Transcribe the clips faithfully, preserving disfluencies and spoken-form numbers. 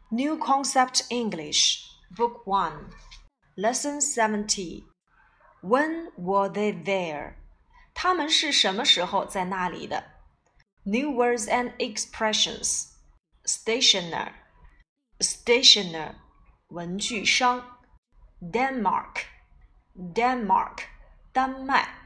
New Concept English, Book one, Lesson seventy. When were they there? 他们是什么时候在那里的？ New words and expressions. Stationer, stationer, 文具商。Denmark, Denmark, 丹麦。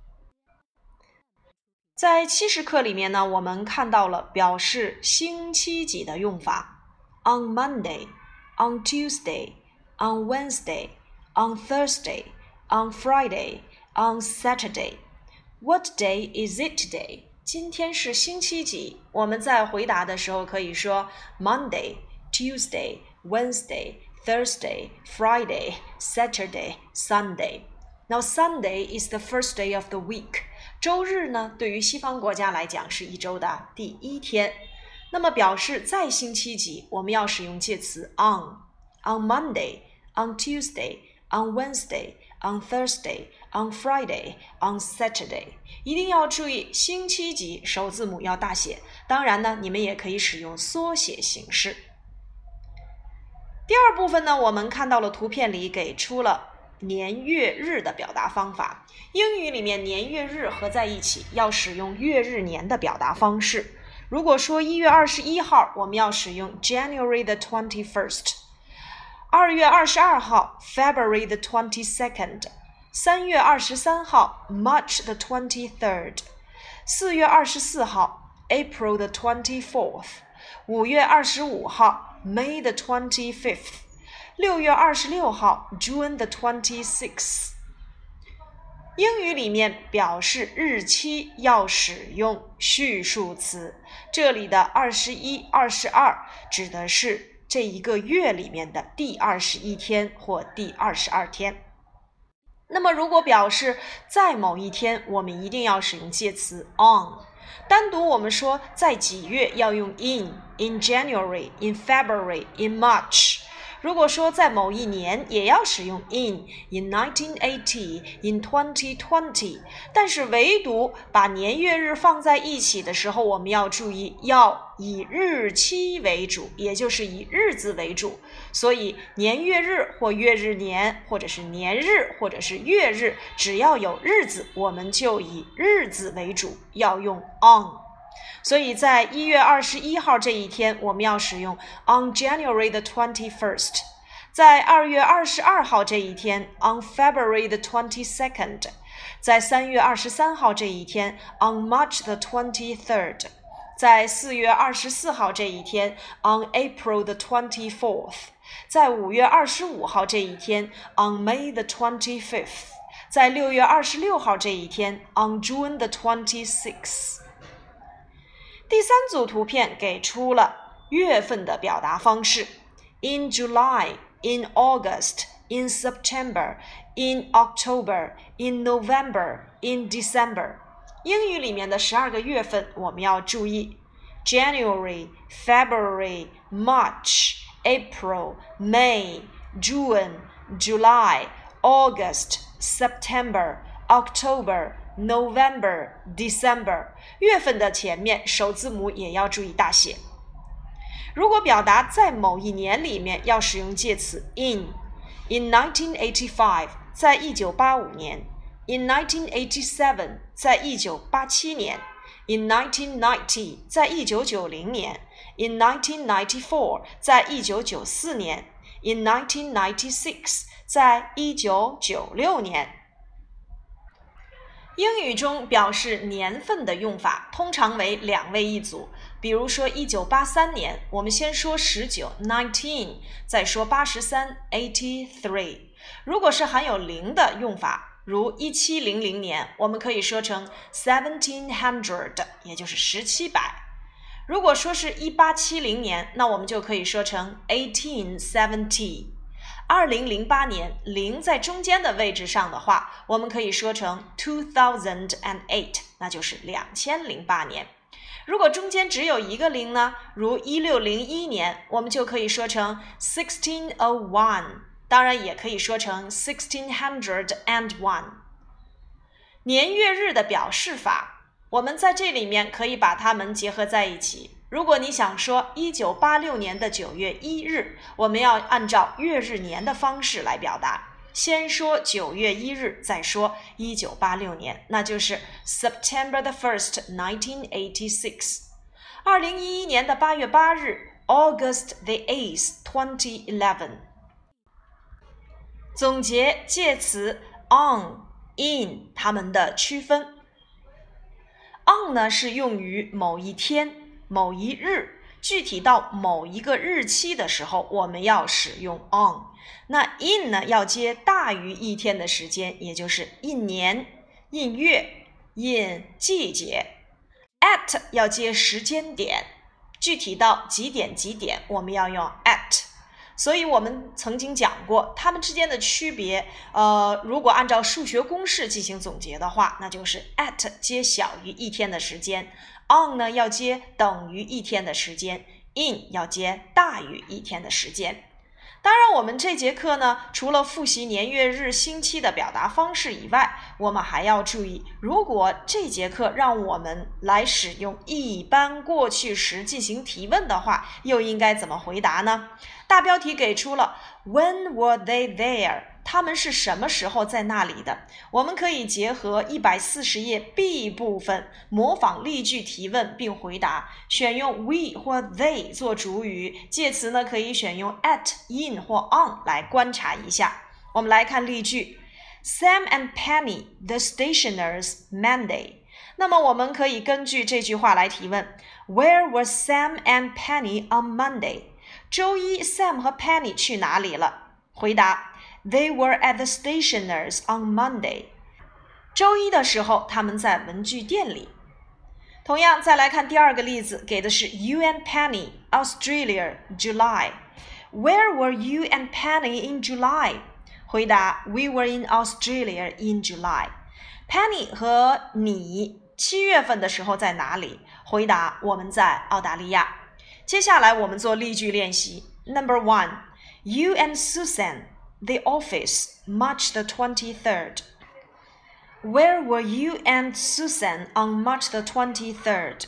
在七十课里面呢，我们看到了表示星期几的用法。On Monday, on Tuesday, on Wednesday, on Thursday, on Friday, on Saturday. What day is it today? 今天是星期几？我们在回答的时候可以说 Monday, Tuesday, Wednesday, Thursday, Friday, Saturday, Sunday. Now Sunday is the first day of the week. 周日呢，对于西方国家来讲是一周的第一天。那么表示在星期几，我们要使用介词 on. On Monday, on Tuesday, on Wednesday, on Thursday, on Friday, on Saturday. 一定要注意星期几首字母要大写。当然呢，你们也可以使用缩写形式。第二部分呢，我们看到了图片里给出了年月日的表达方法。英语里面年月日合在一起，要使用月日年的表达方式。如果说一月二十一号，我们要使用 January the twenty-first。二月二十二号 February the twenty-second。三月二十三号 March the twenty-third。四月二十四号 April the twenty-fourth。五月二十五号 May the twenty-fifth。六月二十六号 June the twenty-sixth。英语里面表示日期要使用序数词，这里的二十一、二十二指的是这一个月里面的第二十一天或第二十二天。那么如果表示在某一天，我们一定要使用介词 on。单独我们说在几月要用 in, in January, in February, in March。如果说在某一年也要使用 in, in nineteen eighty, in twenty twenty， 但是唯独把年月日放在一起的时候，我们要注意要以日期为主，也就是以日子为主。所以年月日或月日年，或者是年日或者是月日，只要有日子，我们就以日子为主，要用 on。所以在一月二十一号这一天，我们要使用 on January the twenty-first。在二月二十二号这一天 on February the twenty-second。在三月二十三号这一天 on March the twenty-third。在四月二十四号这一天 on April the twenty-fourth。在五月二十五号这一天 on May the twenty-fifth。在六月二十六号这一天 on June the twenty-sixth。第三组图片给出了月份的表达方式 in July, in August, in September, in October, in November, in December。 英语里面的十二个月份我们要注意 January, February, March, April, May, June, July, August, September, October,November, December， 月份的前面首字母也要注意大写。如果表达在某一年里面，要使用介词 in。 In nineteen eighty-five， 在一九八五年。 In nineteen eighty-seven， 在一九八七年。 In nineteen ninety， 在一九九零年。 In nineteen ninety-four， 在一九九四年。 In nineteen ninety-six， 在一九九六年。英语中表示年份的用法通常为两位一组，比如说一九八三年，我们先说十九 nineteen， 再说八十三 eighty-three。 如果是含有零的用法，如一七零零年，我们可以说成 seventeen hundred， 也就是十七百。如果说是一八七零年，那我们就可以说成 eighteen seventy。二零零八年，零在中间的位置上的话，我们可以说成 two thousand eight， 那就是两千零八年。如果中间只有一个零呢，如一六零一年，我们就可以说成 sixteen oh one， 当然也可以说成 sixteen hundred one。 年月日的表示法，我们在这里面可以把它们结合在一起。 如果你想说一九八六年的九月一日，我们要按照月日年的方式来表达，先说九月一日，再说一九八六年，那就是 September the first, nineteen eighty-six。二零一一年的八月八日 August the eighth, twenty eleven。总结介词 on、in 它们的区分。on 呢是用于某一天、某一日，具体到某一个日期的时候，我们要使用 on。那 in 呢要接大于一天的时间，也就是一年、一月、一季节。at 要接时间点，具体到几点几点，我们要用 at。所以我们曾经讲过，它们之间的区别，呃，如果按照数学公式进行总结的话，那就是 at 接小于一天的时间 ，on 呢要接等于一天的时间 ，in 要接大于一天的时间。当然，我们这节课呢，除了复习年月日星期的表达方式以外，我们还要注意，如果这节课让我们来使用一般过去时进行提问的话，又应该怎么回答呢？大标题给出了 When were they there？ 他们是什么时候在那里的？我们可以结合一百四十页 B 部分模仿例句提问并回答，选用 we 或 they 做主语，介词呢可以选用 at、in 或 on 来观察一下。我们来看例句 Sam and Penny, the stationers, Monday。 那么我们可以根据这句话来提问 Where were Sam and Penny on Monday？ 周一 Sam 和 Penny 去哪里了？回答They were at the stationers on Monday. 周一的时候，他们在文具店里。同样，再来看第二个例子，给的是 You and Penny, Australia, July. Where were you and Penny in July? 回答 We were in Australia in July. Penny 和你七月份的时候在哪里？回答我们在澳大利亚。接下来我们做例句练习。Number one, You and Susan.The office, March the twenty-third. Where were you and Susan on March the twenty-third?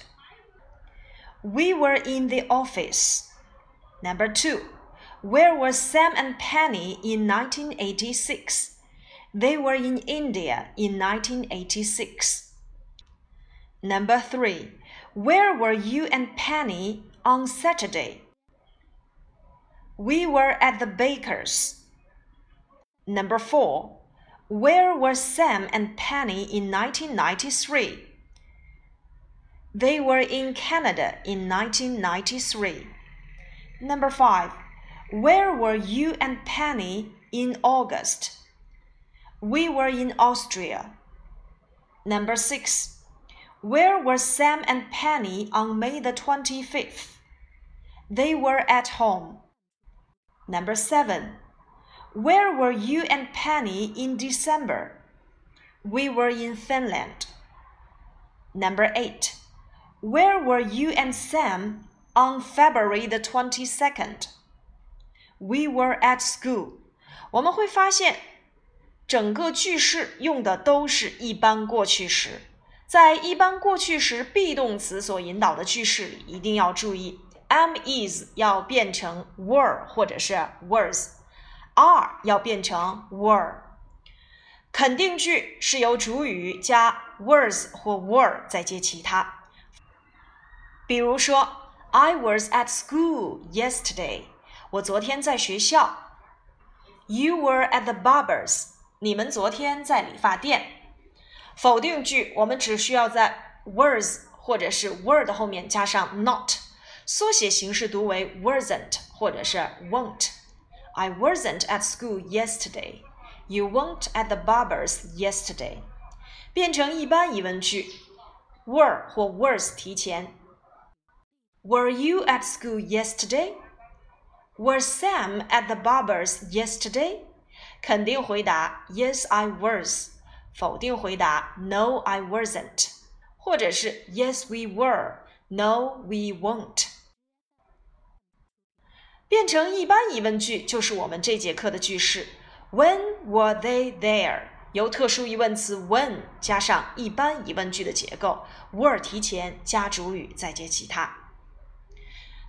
We were in the office. Number two, where were Sam and Penny in nineteen eighty-six? They were in India in nineteen eighty-six. Number three, where were you and Penny on Saturday? We were at the baker's.Number four, where were Sam and Penny in nineteen ninety-three? They were in Canada in nineteen ninety-three. Number five, where were you and Penny in August? We were in Austria. Number six, where were Sam and Penny on May the twenty-fifth? They were at home. Number seven,Where were you and Penny in December? We were in Finland. Number eight. Where were you and Sam on February the twenty-second? We were at school. 我们会发现，整个句式用的都是一般过去时。在一般过去时 be 动词所引导的句式里，一定要注意 am is 要变成 were 或者是 was。are 要变成 were， 肯定句是由主语加 was 或 were 再接其他。比如说 I was at school yesterday， 我昨天在学校。You were at the barber's， 你们昨天在理发店。否定句我们只需要在 was 或者是 were 的后面加上 not， 缩写形式读为 wasn't 或者是 won't。I wasn't at school yesterday. You weren't at the barber's yesterday. 变成一般疑问句 were 或 was 提前 Were you at school yesterday? Was Sam at the barber's yesterday? 肯定回答 Yes, I was. 否定回答 No, I wasn't. 或者是 Yes, we were. No, we won't.变成一般疑问句就是我们这节课的句式 When were they there？ 由特殊疑问词 when 加上一般疑问句的结构 were 提前加主语再接其他。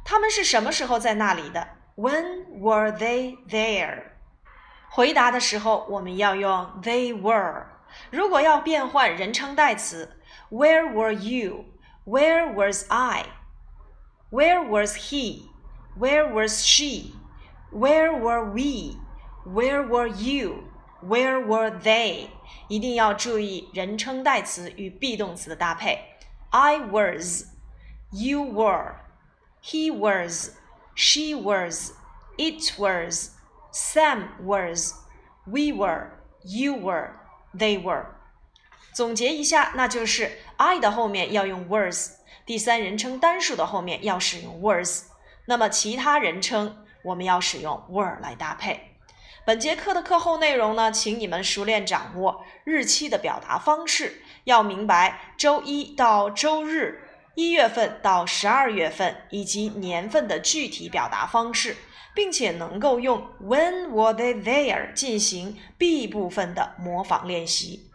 他们是什么时候在那里的？ When were they there? 回答的时候我们要用 they were。 如果要变换人称代词， Where were you? Where was I? Where was he? Where was she? Where were we? Where were you? Where were they? 一定要注意人称代词与 be 动词的搭配。 I was, you were, he was, she was, it was, Sam was, we were, you were, they were。 总结一下，那就是 I 的后面要用 was， 第三人称单数的后面要使用 was， 那么其他人称我们要使用 were 来搭配。本节课的课后内容呢，请你们熟练掌握日期的表达方式，要明白周一到周日、一月份到十二月份以及年份的具体表达方式，并且能够用 When were they there 进行 be 部分的模仿练习。